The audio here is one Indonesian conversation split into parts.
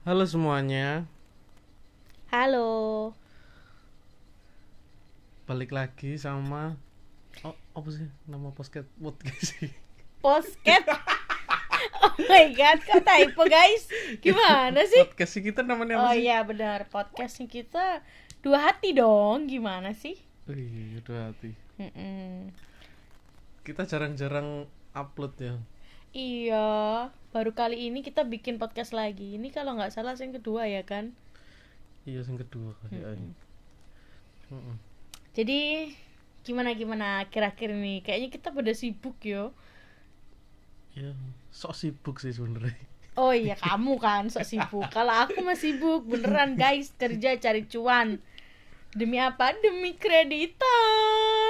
Halo semuanya, Halo. balik lagi sama apa sih nama podcast sih? Posket. Oh my god, kok typo guys? Gimana sih? Podcast sih kita namanya Oh apa sih? iya benar, podcastnya kita Dua Hati dong. Gimana sih? Wih, udah hati. Mm-mm. Kita jarang-jarang upload ya. Iya, baru kali ini kita bikin podcast lagi. Ini kalau nggak salah yang kedua ya kan? Iya, yang kedua kali ini. Jadi gimana akhir-akhir ini? Kayaknya kita pada sibuk yo. Ya, sok sibuk sih sebenarnya. Oh iya kamu kan sok sibuk. Kalau aku mah sibuk beneran guys, kerja cari cuan. Demi apa? Demi kreditan.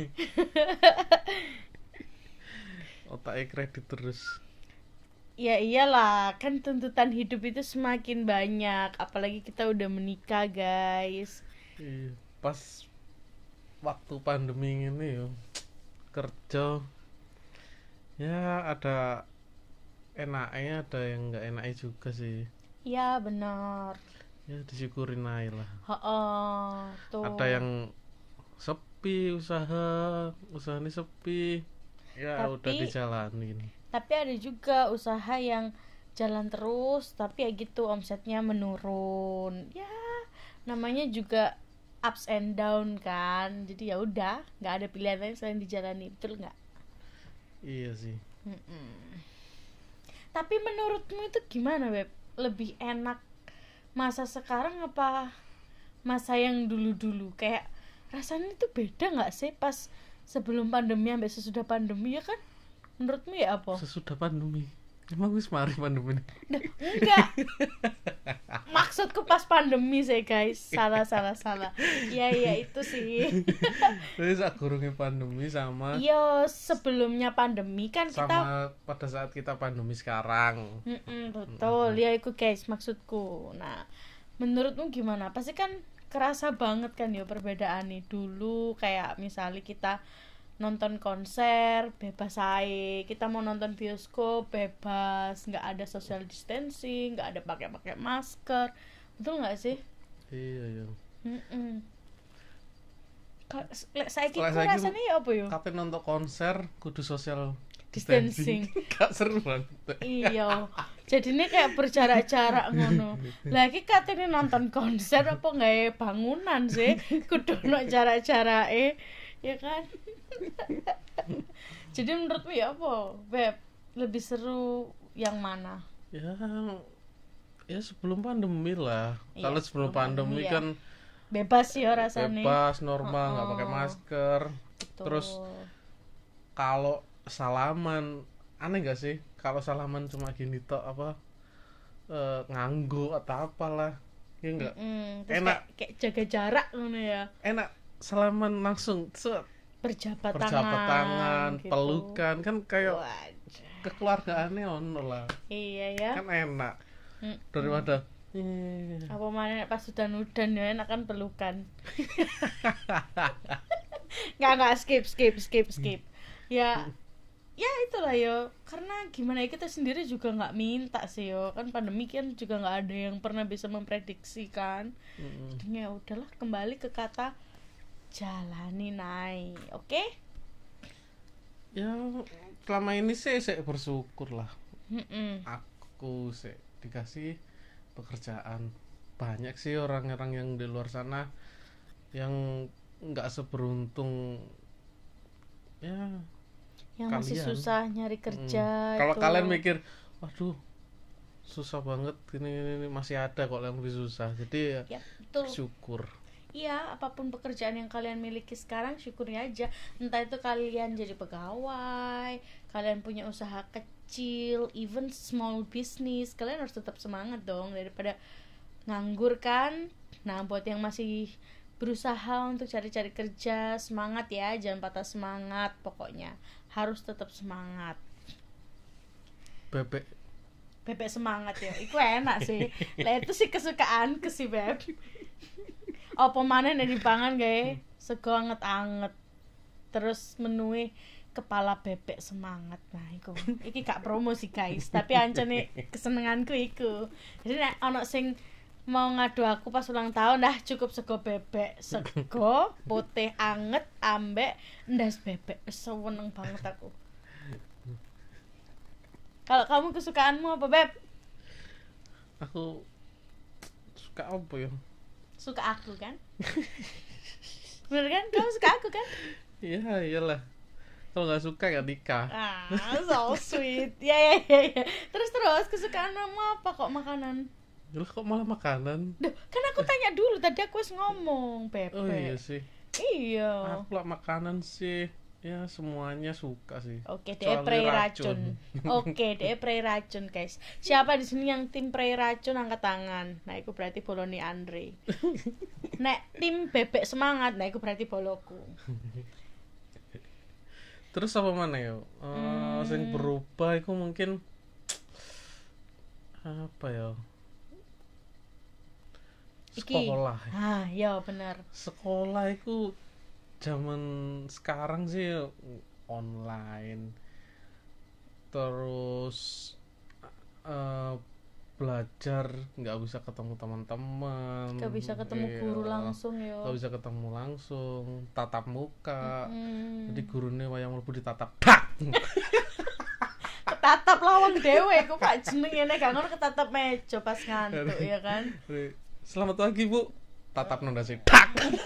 Otaknya kredit terus. Ya iyalah, kan tuntutan hidup itu semakin banyak. Apalagi kita udah menikah guys. Iya, pas waktu pandemi ini ya kerja ya ada enaknya ada yang nggak enaknya juga sih. Ya benar. Ya disyukurin aja lah. Tuh. Ada yang sepi usahanya sepi ya Tapi- udah dijalanin. Tapi ada juga usaha yang jalan terus, tapi ya gitu omsetnya menurun. Ya, namanya juga ups and down kan. Jadi ya udah, nggak ada pilihan lain selain dijalani, betul nggak? Iya sih. Tapi menurutmu itu gimana, Beb? Lebih enak masa sekarang apa masa yang dulu-dulu? Kayak rasanya itu beda nggak sih pas sebelum pandemi sampai sesudah pandemi ya kan? Menurutmu ya apa? Sesudah pandemi emang wis mari pandemi ini. Enggak. Maksudku pas pandemi sih, guys. Salah. Iya itu sih. Terus gurunge pandemi sama Iya, sebelumnya pandemi kan kita sama pada saat kita pandemi sekarang. betul. Ya itu guys maksudku. Nah, menurutmu gimana? Pasti kan kerasa banget kan ya perbedaan nih. Dulu kayak misalnya kita nonton konser bebas aja, kita mau nonton bioskop bebas, nggak ada social distancing, nggak ada pakai masker, betul nggak sih? Iya. Saiki ku Saiki rasanya ya apa yo? Kapan nonton konser kudu social Distancing. Gak seru banget. Iya, jadi ini kayak berjarak-jarak ngono. Lagi katanya nonton konser apa nggak bangunan sih, kudu no jarak-jarake, ya kan? Jadi menurutmu ya apa, Beb? Lebih seru yang mana? Ya sebelum pandemi lah. Iya, Kalau sebelum sebelum pandemi pandemi ya. kan Bebas ya rasanya. bebas normal nggak pakai masker. Betul. Terus kalau salaman aneh nggak sih? Kalau salaman cuma gini tok apa nganggo atau apalah ya nggak Terus enak. kayak jaga jarak ngono ya. Enak salaman langsung Berjabat tangan gitu. pelukan kan kayak Wajah. kekeluargaannya ono lah Iya ya. kan enak daripada Apa mana pas udan ya enak kan pelukan. Nggak skip. Ya itulah yo, karena gimana ya kita sendiri juga nggak minta sih yo, kan pandemi kan juga nggak ada yang pernah bisa memprediksi kan. Jadi ya udahlah, kembali ke kata jalani naik, oke? ya selama ini sih saya bersyukur lah. Mm-mm. Aku sih dikasih pekerjaan. Banyak sih orang-orang yang di luar sana yang nggak seberuntung ya Yang masih kalian. susah nyari kerja. Kalau itu. kalian mikir waduh susah banget ini masih ada kok yang lebih susah, jadi Ya betul. bersyukur. Iya, apapun pekerjaan yang kalian miliki sekarang, syukuri aja. Entah itu kalian jadi pegawai, kalian punya usaha kecil, even small business, kalian harus tetap semangat dong daripada nganggur kan. Nah, buat yang masih berusaha untuk cari-cari kerja, semangat ya, jangan patah semangat. Pokoknya harus tetap semangat. Bebek Semangat ya, itu enak sih. Lah itu sih kesukaanku sih, Beb. Apa maneh nek dipangan gawe sego anget-anget. Terus menue kepala bebek semangat. Nah, iku. Iki gak promosi guys, tapi ancene kesenenganku iku. Jadi nek ana sing mau ngadu aku pas ulang tahun, dah cukup sego bebek, sego putih anget ambek ndas bebek. Seneng banget aku. Kalau kamu kesukaanmu apa, Beb? Aku suka apa ya? Suka aku kan? Bener kan? Kamu suka aku kan? Iya, iyalah. Kalau nggak suka ya nikah. So sweet. Ya. Terus kesukaan kamu apa kok makanan? Lah kok malah makanan? Duh, kan aku tanya dulu tadi, aku wis ngomong bebek. Oh iya sih. Iya. Aku lah makanan sih. Ya semuanya suka sih. Oke, dia prei racun. Oke, dia prei racun, guys. Siapa di sini yang tim prei racun angkat tangan. Nah, itu berarti boloni Andre. Nek tim bebek semangat, nah itu berarti boloku. Terus apa mana ya? Sing berubah itu mungkin apa ya? Sekolah. Ya benar. Sekolah itu zaman sekarang sih online. Terus belajar nggak bisa ketemu teman-teman, nggak bisa ketemu guru langsung yo, nggak bisa ketemu langsung, tatap muka. Jadi gurunya wayang mlebu ditatap dak. Ketatap lawang dewe kok Pak jenenge nek gak ngono ketatap meja pas ngantuk ya kan. Selamat pagi Bu, tatap nondasi dak.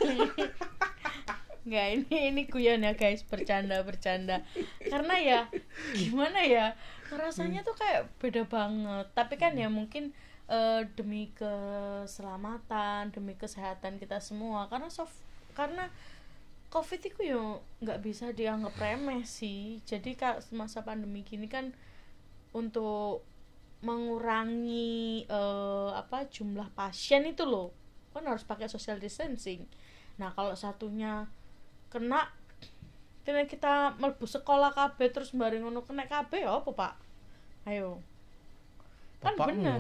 Nggak, ini guyon ya guys, bercanda karena ya gimana ya, rasanya tuh kayak beda banget. Tapi kan ya mungkin demi keselamatan, demi kesehatan kita semua, karena COVID itu ya nggak bisa dianggap remeh sih. Jadi kak semasa pandemi gini kan untuk mengurangi jumlah pasien itu loh kan harus pakai social distancing. Nah kalau satunya kena kita mlebu sekolah kabeh terus bareng ngono kena kabeh ya apa Pak? Ayo. Kan bener.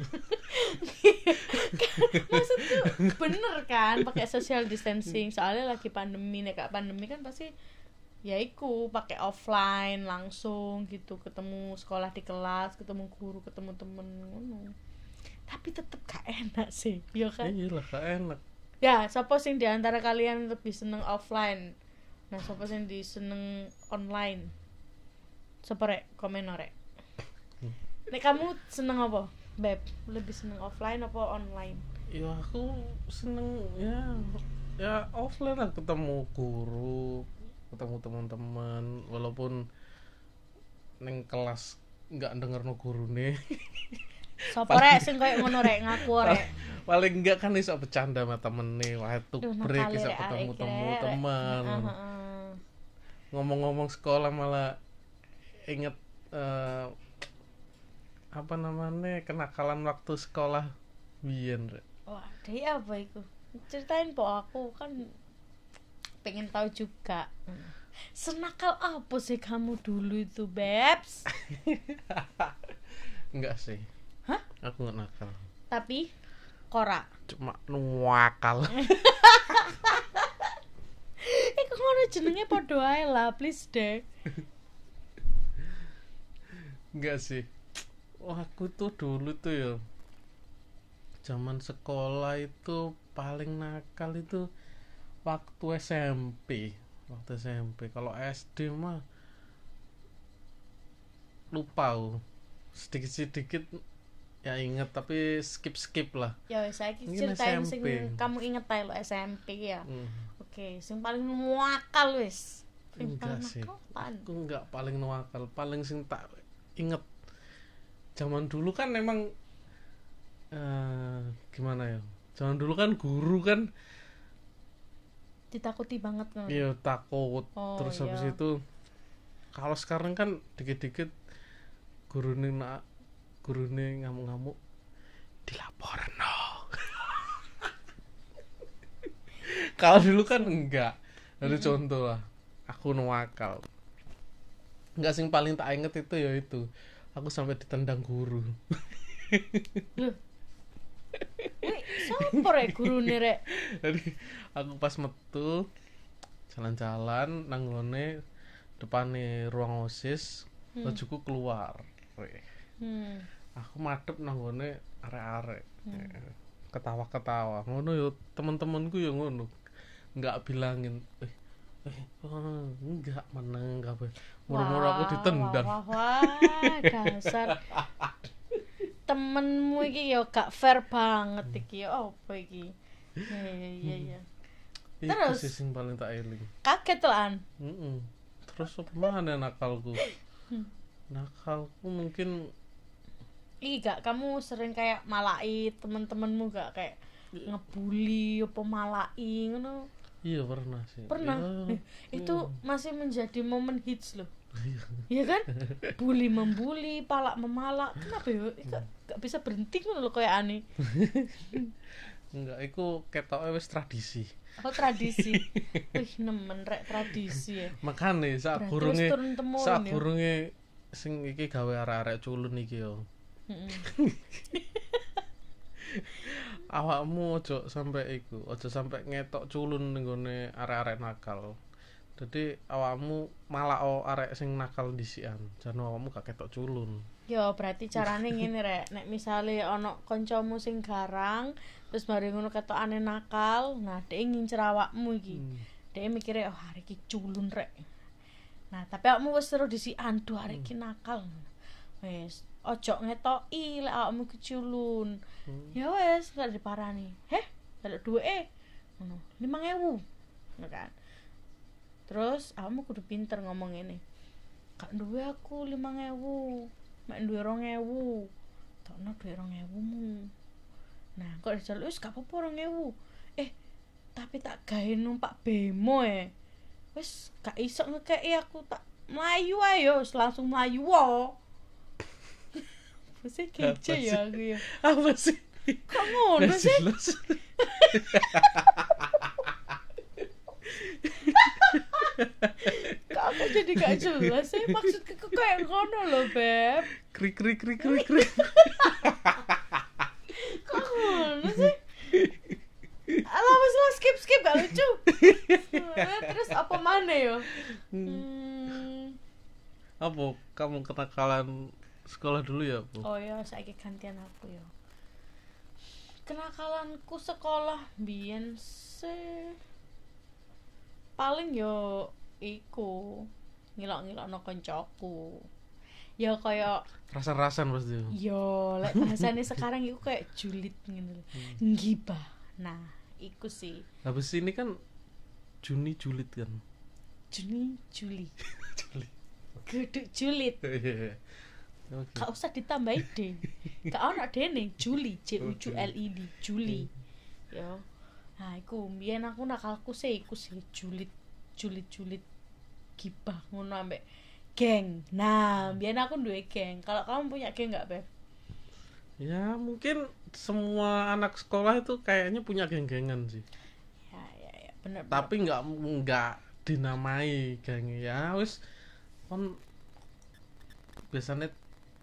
Maksudku bener kan pakai social distancing, soalnya lagi pandemi. Nek gak pandemi kan pasti ya iku pakai offline langsung gitu, ketemu sekolah di kelas, ketemu guru, ketemu temen ngono. Tapi tetep gak enak sih, ya kan? Iyalah gak enak. Ya, siapa sing di antara kalian lebih seneng offline? Nah, siapa sing seneng online? Siapa rek? Komen rek. Nek kamu seneng apa, Beb? Lebih seneng offline apa online? Ya aku seneng ya offline lah, ketemu guru, ketemu teman-teman, walaupun neng kelas nggak denger no gurune. Sopo rek sing koyo ngono rek, ngaku rek. Paling enggak kan iso bercanda sama temene, waktu break iso ketemu teman. Ngomong-ngomong sekolah malah inget apa namanya kenakalan waktu sekolah biyen rek. Wah, dia apa itu? Ceritain po, aku kan pengen tahu juga. Senakal apa sih kamu dulu itu, Bebs? Enggak sih. Hah? Aku enggak nakal. Tapi Kora cuma nuwakal. Kok ngono jenenge padha ae lah, please deh. Enggak sih. Aku tuh dulu tuh ya zaman sekolah itu paling nakal itu waktu SMP. Kalau SD mah lupa sedikit ya inget tapi skip lah. Ya wis saiki ceritain sing kamu inget ae lo SMP ya. Oke, sing paling nuwakal wis. Enggak sih. Aku enggak paling nuwakal, paling sing tak inget. Zaman dulu kan memang gimana ya? Zaman dulu kan guru kan ditakuti banget kan. Iya, takut. Terus habis itu kalau sekarang kan dikit-dikit gurune ngamuk-ngamuk dilaporno. Kalau dulu kan enggak. Ada contoh lah. Aku nuwakal. Enggak, sing paling tak inget itu ya itu. Aku sampai ditendang guru. Loh. Sopo rek gurune rek? Jadi aku pas metu jalan-jalan nanggone depane ruang OSIS, bajuku keluar. Aku madhep nang ngone arek-arek. Ketawa-ketawa. Ngono yo temen-temenku yo ngono. Enggak bilangin, enggak meneng kabeh. Moro-moro aku ditendang. Wah, dasar. Temenmu iki yo gak fair banget iki. Apa iki? Ya. Terus Iku sing paling tak eling. Kaget lan. Terus apa mana nakalku? Nakalku mungkin Gak kamu sering kayak malai temen-temenmu gak kayak ngebully apa malai ngono? iya pernah sih. Pernah. Ya, Itu masih menjadi momen hits loh. iya. Iya kan? Bully membuli, palak memalak. Kenapa ya? Gak bisa berhenti ngono lho kayak aneh. Enggak, iku ketoke wis tradisi. Oh tradisi. Wih nemen rek tradisi ya. Makane sak Berarti wis turun temurun ya. gurunge sing iki gawe arek-arek culun iki yo. Awakmu ojo sampai ngetok culun ning gone arek-arek nakal. Jadi awakmu malah arek sing nakal dhisikan, jan awakmu gak ketok culun. Yo berarti carane ngene rek, nek misale ana kancamu sing garang terus mari ngono ketokane nakal, nah dhek ngincer awakmu iki. Dhek mikire oh arek iki culun rek. Nah, tapi awakmu wis terus dhisikan, aduh arek iki nakal. Wis ojo ngetoki lek awakmu keculun. Ya wes gak diparani. Heh, delok duweke. Ngono, 5.000. Ngono kan. Terus awakmu kudu pinter ngomong ngene. Gak duwe aku 5.000. Mek duwe 2.000. Tokno duwe 2.000-mu. Nah, kok dijaluk wis gak apa-apa 2.000. Tapi tak gawe numpak bemo Wis gak iso ngekeki aku tak mlayu ae yo, langsung mlayu wae. Mesti kece ya aku ya. Apa sih? Kok ngono sih? Kok aku jadi gak jelas sih? Maksudku kayak ngono loh, Beb. Krik. Kok ngono sih? Alah, wis lah skip gak lucu. Terus apa mana yo? Apa kamu kenakalan sekolah dulu ya, Bu? Oh ya, saiki gantian aku ya. Kenakalanku sekolah biyen sih paling yo iku ngilok-ngilokno koncoku. Ya kaya Rasan-rasan pasti. yo lek bahasane sekarang iku kayak julid ngene lho. Ngibah. Nah, iku sih. Habis ini kan Juni julid kan. Juli. Juli. Kudu julid. Oke. Gak usah ditambahi D. Gak ono dene Juli, JULID, Juli. Yo. Nah, iku mbiyen aku nakalku sih iku sih julid gibah ngono ambek geng. Nah, mbiyen aku duwe geng. Kalau kamu punya geng enggak, Beb? Ya, mungkin semua anak sekolah itu kayaknya punya geng-gengan sih. Ya, bener. Tapi enggak dinamai geng ya, wis kon biasanya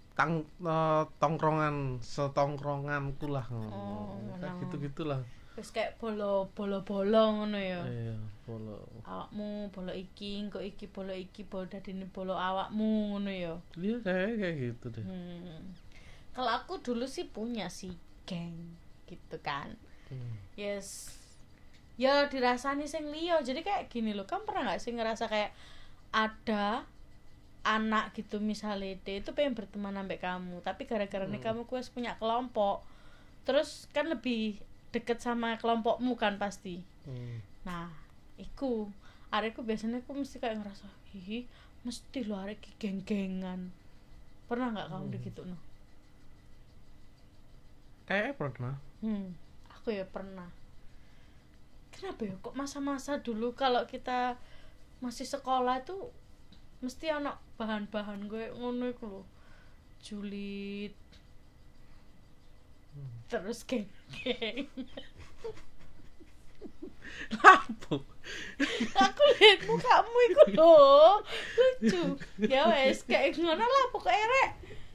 setongkronganku lah kayak gitu-gitulah. Wis kayak bolo ngono ya. Iya, bolo. Awakmu bolo iki, engko iki bolo dadine bolo awakmu ngono ya. Iya kayak gitu deh. Kalau aku dulu sih punya sih geng gitu kan. Yes. Ya dirasani sing liya. Jadi kayak gini loh, kamu pernah gak sih ngerasa kayak ada anak gitu misalnya dia itu pengen berteman sampai kamu, tapi gara-gara kamu kuis punya kelompok, terus kan lebih deket sama kelompokmu kan pasti. Nah, iku arekku biasanya aku mesti kayak ngerasa, ih mesti lo arek geng-gengan. Pernah nggak kamu begitu no? Kayaknya pernah. Aku ya pernah. Kenapa ya kok masa-masa dulu kalau kita masih sekolah itu mesti ana bahan-bahan gue ngono iku lho. Julid. Terus geng. Lampu. Aku lihat mukamu iku lho. Lucu. Ya wes kayak ngono lah pokoke rek.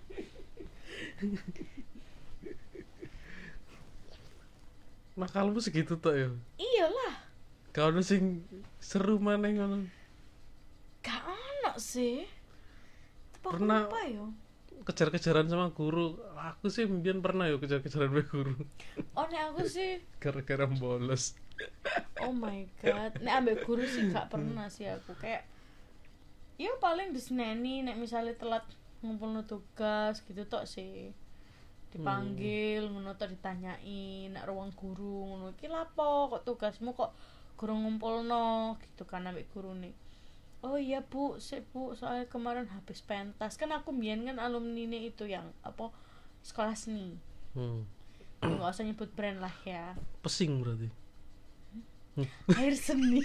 Nakalmu segitu tok ya. Iyalah. Kau sing seru maneh ngono. Gak ono sih. Tapi aku Pernah. lupa yo. Kejar-kejaran sama guru. Aku sih mbiyen pernah yo kejar-kejaran sama guru. Oh nek aku sih, Gara-gara bolos. oh my god, nek ambek guru sih gak pernah sih aku. Kayak ya paling diseneni nek misalnya telat ngumpulno tugas gitu tok sih. Dipanggil ngono tok ditanyain nek ruang guru ngono iki lapo kok tugasmu kok guru ngumpulno gitu kan ambek guru nih. Oh iya bu, soalnya kemarin habis pentas. Kan aku mbiyen kan alumni itu yang apa sekolah seni. Nggak usah nyebut brand lah ya. Pesing berarti. Air seni.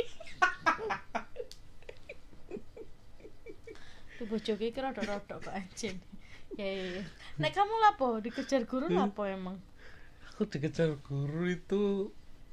Tuh bojoku iki rodok-rodok kok anjing. Ya. Nek kamu lapo dikejar guru lapo emang? Aku dikejar guru itu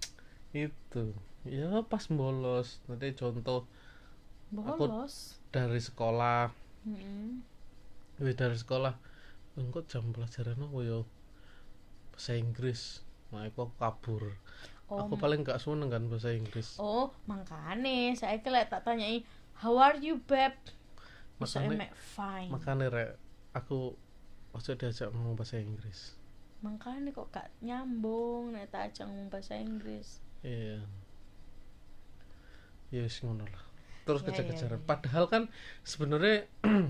ya pas bolos. Nanti contoh Bolos. dari sekolah. Heeh. Dari sekolah engko jam pelajaran apa ya? Bahasa Inggris. Nah, aku kabur. Aku paling gak seneng kan bahasa Inggris. Oh, makane saiki lek tak tanyai, "How are you, babe?" Bisa Makane- emek fine. Makanya rek aku ojo diajak ngomong bahasa Inggris. Makane kok gak nyambung nek tak ajak ngomong bahasa Inggris. Iya. Ya wis ngono lah. Terus Ya, kejar-kejaran. ya. Padahal kan sebenarnya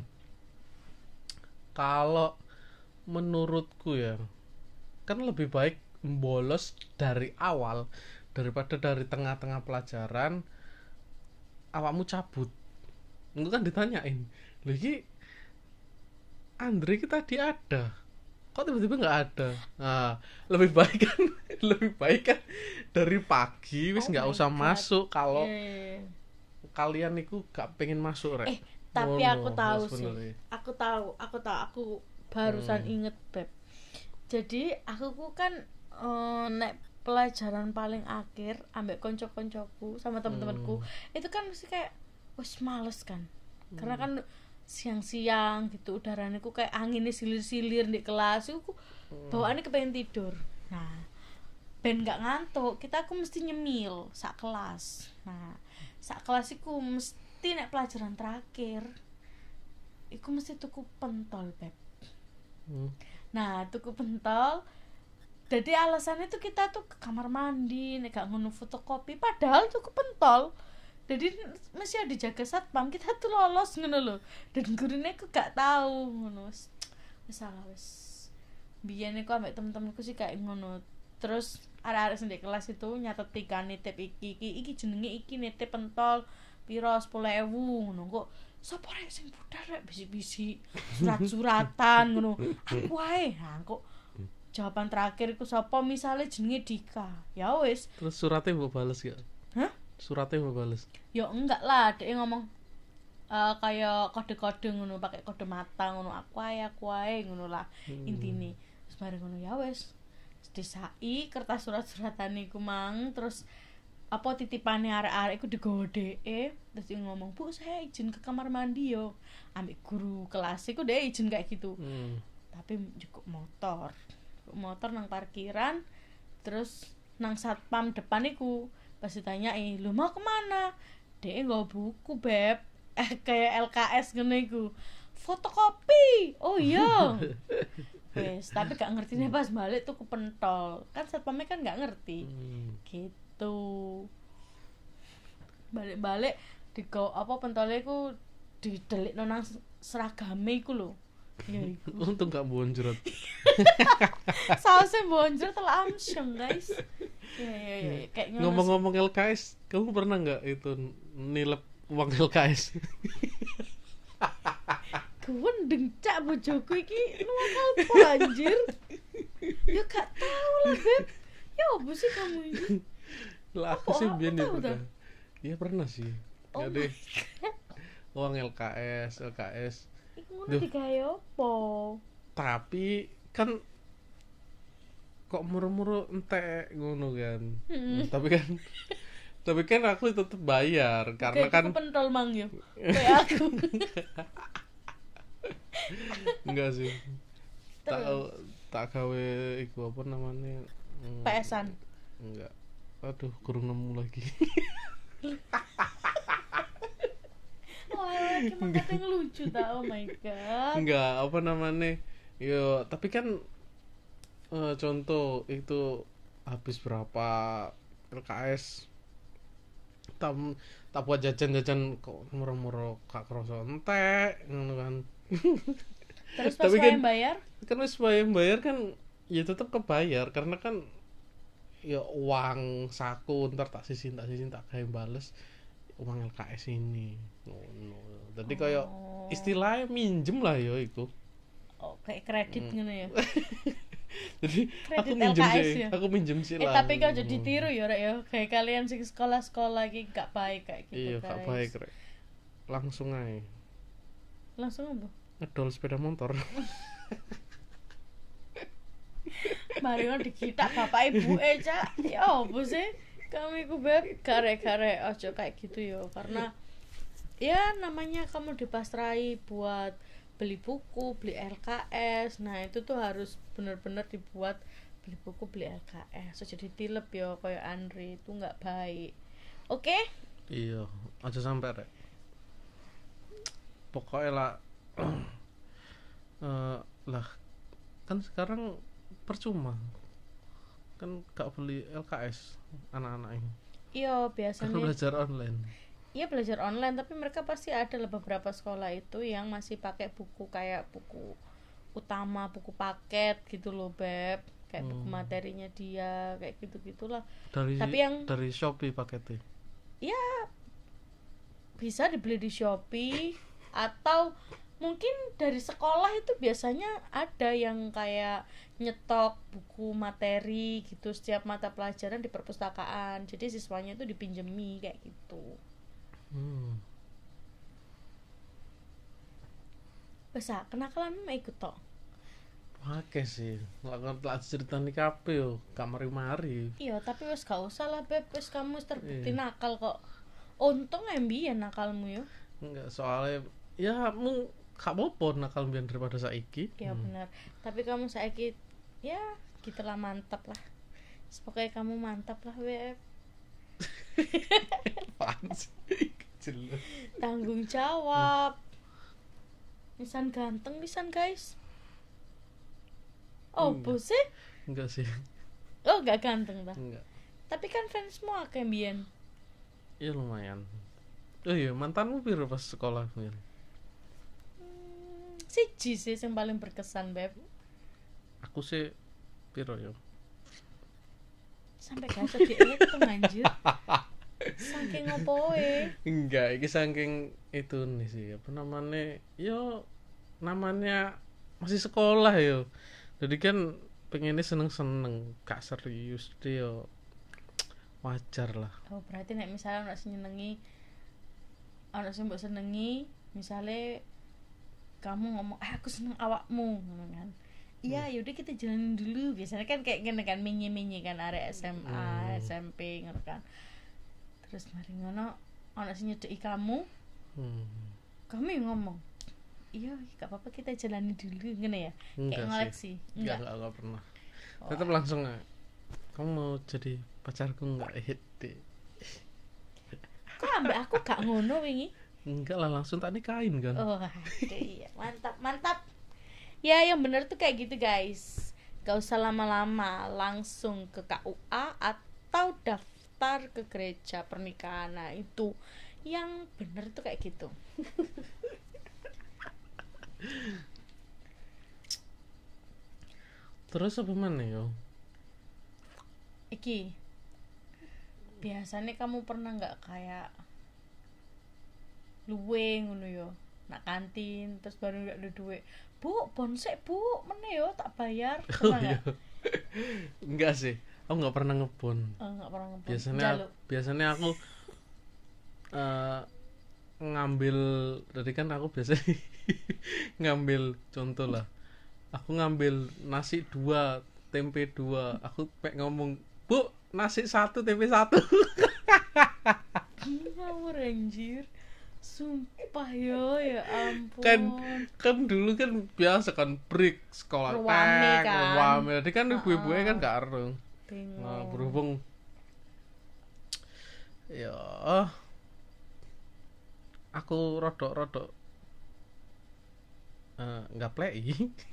kalau menurutku ya kan lebih baik bolos dari awal daripada dari tengah-tengah pelajaran awakmu cabut. Enggak kan ditanyain. Lho iki Andre kita tadi ada. Kok tiba-tiba nggak ada? Nah, lebih baik kan dari pagi wis Oh nggak my usah God. masuk kalau Eh, kalian niku gak pengen masuk rek. tapi Ngono, aku tahu Mas, sih. bener. Aku barusan inget, Beb. Jadi aku ku kan nek pelajaran paling akhir ambek konco-koncoku sama teman-temanku itu kan mesti kayak wes males kan. Karena kan siang-siang gitu udaranya ku kayak anginnya silir-silir di kelas itu bawaannya kepengen tidur. Nah, ben gak ngantuk kita aku mesti nyemil sak kelas. Nah, sak kelas iku mesti nek pelajaran terakhir iku mesti tuku pentol, Beb. Nah, tuku pentol. Jadi alasannya tuh kita tuh ke kamar mandi, nek gak ngono fotokopi, padahal tuku pentol. Jadi mesti ada jaga satpam, kita tuh lolos ngono lho. Dan gurune aku gak tahu ngono. Wis salah wis. Biyen aku ambek temen-temenku sih kayak ngono. Terus arek-arek sing di kelas itu nyateti kan nitip iki jenenge iki nitip pentol piro 10.000 ngono kok. Sopo rek sing budal rek bisi-bisi surat-suratan ngono. Aku ae. Nah, kok jawaban terakhir iku sapa misale jenenge Dika. Ya wis. Terus suratnya mau bales gak? Hah? Suratnya mau bales. Ya enggak lah, dia ngomong kayak kode-kode ngono, pakai kode mata ngono, aku ae ngono lah intine. Terus bareng ngono ya wis. Disai kertas surat-suratan iku mang, terus apa titipane arek-arek iku digowo dheke, terus dia ngomong, "Bu, saya izin ke kamar mandi yo." Ambek guru kelas iku dhek izin kayak gitu. Tapi cukup motor nang parkiran, terus nang satpam depan iku pas ditanyai, "Lu mau kemana?" Dia nggawa buku, Beb. Kayak LKS ngono iku. Fotokopi. Oh iya. Wes, tapi gak ngerti nih pas balik tuh ke pentol. Kan satpamnya kan gak ngerti. Gitu. Balik-balik apa pentolnya iku didelikno nang seragame iku lho. Ya iku. Untung gak bonjrot. Sausnya bonjol telah amsyong, guys. Ya, kayak Ngomong-ngomong LKS, kamu pernah nggak itu nilep uang LKS? Gendeng cak bojoku iki nuwakal po anjir. Ya gak tau lah, Beb. Ya apa sih kamu ini? Lah aku sih biyen ya tahu pernah. Iya pernah sih. Oh Jadi uang LKS. Iku ngono digawe opo? Tapi kan kok muru-muru entek ngono kan. Tapi kan aku tetep bayar karena Kayak kan tuku pentol mang yo. Kayak aku. enggak sih. Tak gawe iku apa namanya? PS-an. Enggak. Aduh, kurang nemu lagi. Wah, iki mah katanya lucu ta. Oh my god. Enggak, apa namanya? Yo, tapi kan contoh itu habis berapa LKS tam tak buat jajan-jajan kok murah-murah gak kerasa entek ngono kan. Terus pas Tapi wae kan bayar, kan wis bayar kan ya tetap kebayar karena kan ya uang saku ntar tak sisin tak kayak bales uang LKS ini ngono. Jadi kayak istilahnya minjem lah ya itu. oh kayak kredit ngono ya. Jadi Kredit aku minjem LKS sih, ya? aku minjem sih lah. Tapi kau jadi tiru ya rek ya. Kayak kalian sing sekolah-sekolah iki gak baik kayak gitu Iya, guys. gak baik rek. Langsung aja Langsung apa? ngedol sepeda motor. Mari ngono dikitak bapak ibu Cak. Ya apa sih? Kamu iku beb gare-gare ojo kayak gitu yo karena ya namanya kamu dipasrai buat beli buku, beli LKS. Nah, itu tuh harus benar-benar dibuat beli buku, beli LKS. So, jadi tilep yo kayak Andri itu nggak baik. Oke? Iya, aja sampai rek. Pokoknya lah lah kan sekarang percuma kan gak beli LKS anak-anak ini Iya, karena biasanya belajar online. iya belajar online, tapi mereka pasti ada lah beberapa sekolah itu yang masih pakai buku kayak buku utama, buku paket gitu loh, Beb. Kayak buku materinya dia, kayak gitu-gitulah. Tapi yang dari Shopee paketnya. ya bisa dibeli di Shopee atau mungkin dari sekolah itu biasanya ada yang kayak nyetok buku materi gitu setiap mata pelajaran di perpustakaan, jadi siswanya itu dipinjemi kayak gitu. Bisa kenakalan mah ikut tok. Pakai sih nggak cerita nih kape yo kamari-mari. Iya tapi wes gak usah lah Beb, wes kamu wis terbukti nakal kok. Untung embian nakalmu yo. Enggak, soalnya ya mu gak apa-apa nakal mbiyen daripada saiki. Ya benar. Tapi kamu saiki ya gitulah mantap lah. Pokoknya kamu mantap lah Beb. Apaan sih? Jelas. Tanggung jawab. Pisan ganteng pisan guys. Oh sih? Enggak sih. Oh gak ganteng dah. Enggak. Tapi kan fansmu akeh mbiyen. Ya lumayan. Oh iya, mantanmu piro pas sekolah mbiyen? Siji sih yang paling berkesan Beb. Aku sih piro yo? Sampai gak iso dihitung anjir. Saking ngopoe. Enggak, iki saking itu nih sih, apa namanya? Yo namanya masih sekolah yo. Jadi kan pengennya seneng-seneng, gak serius deh yo. Wajar lah. Oh, berarti nek misalnya ono sing nyenengi, ono sing mbok senengi, misalnya kamu ngomong, aku seneng awakmu, ngono kan. Iya, yaudah kita jalanin dulu. Biasanya kan kayak gini kan, minyi-minyi kan arek SMA, SMP ngono kan. Terus mari ngono ono sing nyedeki kamu. Kamu yang ngomong, iya gak apa-apa kita jalani dulu ngene ya. Kayak ngoleksi. Enggak pernah. Tetap langsung kamu mau jadi pacarku enggak deh. Kok ambek aku gak ngono wingi? Enggak lah, langsung tak nikahin kan. Oh, iya, mantap. Ya, yang bener tuh kayak gitu guys. Gak usah lama-lama, langsung ke KUA atau daftar ke gereja pernikahan. Nah, itu yang bener tuh kayak gitu. Terus apa mana yo? Iki biasanya kamu pernah nggak kayak luwe ngono yo nak kantin terus baru nggak ada duit, bu bonsek bu mana yo tak bayar pernah nggak? Enggak sih, aku nggak pernah ngebon. Nggak pernah ngebon. Biasanya aku ngambil, jadi kan aku biasanya ngambil contoh lah, aku ngambil nasi 2 tempe 2, aku pengen ngomong bu nasi 1 tempe 1. Ngawur anjir, sumpah yo ya ampun. kan dulu kan biasa kan break sekolah tek ruame jadi kan ibu-ibu kan gak arung. Nah, berhubung ya aku rodok-rodok nggak play.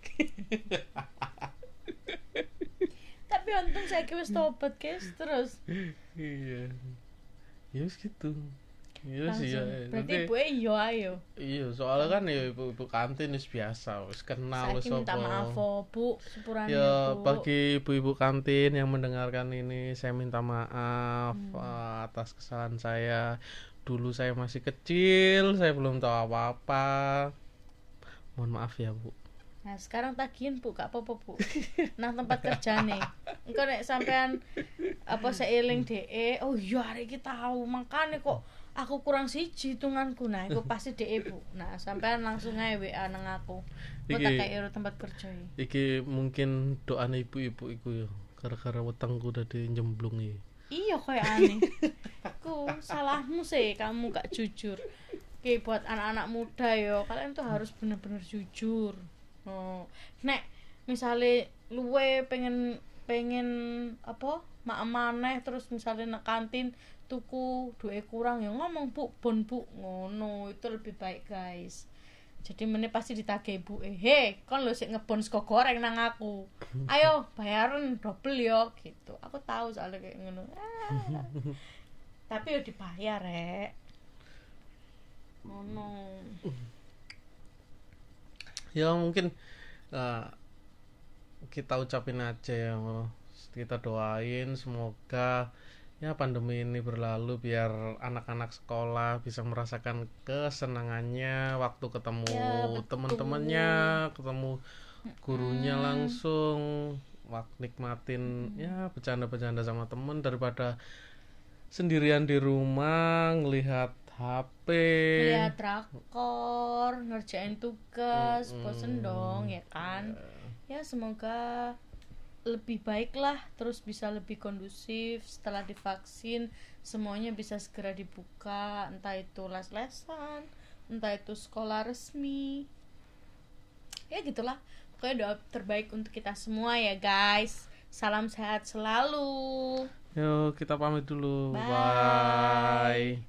Tapi untung saya wis tobat guys terus. Iya, ya wis gitu. Iya sih ya. Langsung. Berarti Nanti- ibu yo ayo. iya, soalnya kan ya ibu kantin wis biasa, wis kenal wis Saya minta apa. maaf Bu, sepurane Ya, Bu. bagi ibu-ibu kantin yang mendengarkan ini, saya minta maaf atas kesalahan saya. Dulu saya masih kecil, saya belum tahu apa-apa. Mohon maaf ya, Bu. Nah, sekarang tagihin Bu, gak apa-apa Bu. Nang tempat kerjane. Engko nek sampean apa seiling DE, oh iya hari iki tahu, makane kok aku kurang siji hitunganku. Nah, iku pasti DE Bu. Nah, sampean langsung ae WA nang aku. Kok tak Iki- kayak tempat kerja iki. Iki mungkin doane ibu-ibu iku ya, gara-gara wetengku tadi jemblung iki. Iya kayak aneh. Ku salahmu sih kamu gak jujur. Oke buat anak-anak muda yo, kalian tuh harus bener-bener jujur. Oh, nek misalnya luwe pengen apa mak maneh terus misalnya nak kantin tuku duit kurang ya ngomong Bu bon Bu ngono itu lebih baik guys. Jadi meneh pasti ditagih ibu kon lo sik ngebon sego goreng nang aku, ayo bayaran double yo gitu. Aku tahu soalnya kayak ngono. Tapi yo dibayar rek ngono. Ya mungkin kita ucapin aja ya, kita doain semoga ya pandemi ini berlalu biar anak-anak sekolah bisa merasakan kesenangannya waktu ketemu Ya, betul. teman-temannya, ketemu gurunya langsung, nikmatin ya bercanda-bercanda sama temen daripada sendirian di rumah ngelihat HP. Lihat drakor, ngerjain tugas, bosen dong ya kan. Ya semoga lebih baik lah, terus bisa lebih kondusif setelah divaksin, semuanya bisa segera dibuka, entah itu les-lesan, entah itu sekolah resmi. Ya gitulah, pokoknya doa terbaik untuk kita semua ya guys. Salam sehat selalu. Yuk kita pamit dulu. Bye. Bye.